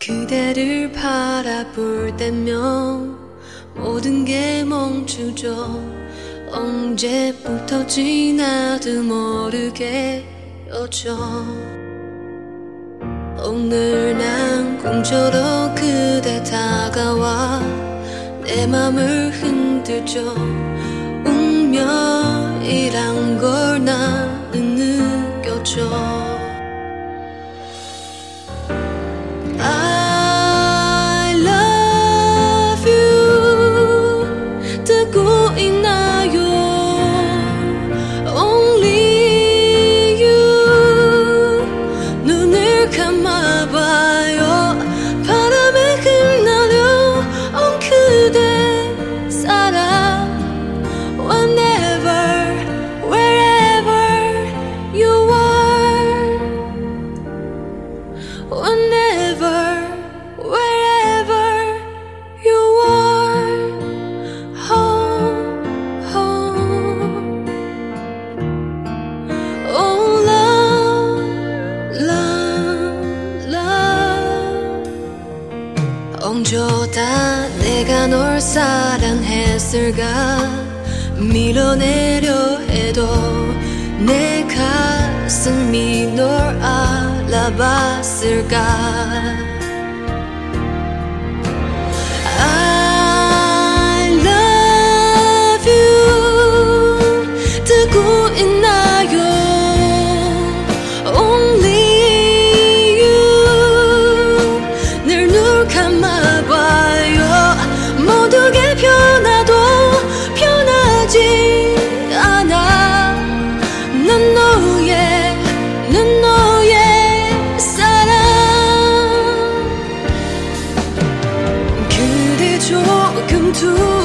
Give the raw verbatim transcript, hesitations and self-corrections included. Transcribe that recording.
그대를 바라볼 때면 모든 게 멈추죠. 언제부터지 나도 모르게 였죠. 오늘 난 꿈처럼 그대 다가와 내 맘을 흔들죠. 운명이란 걸 나는 느꼈죠. I love you 듣고 있나요? Only you 눈을 감아봐요. 바람에 흩날려 온 그대 사랑 Whenever, wherever you are Whenever, wherever you are Home, home Oh love, love, love 엉줘다 내가 널 사랑했을까 밀어내려 해도 내 가슴이 널 알아봤을까. I love you 듣고 있나요? Only you 늘 눈 감아봐요. 모두게 변화도 변하지 않아. 난 너의 난 너의 사랑. 그대 조금 두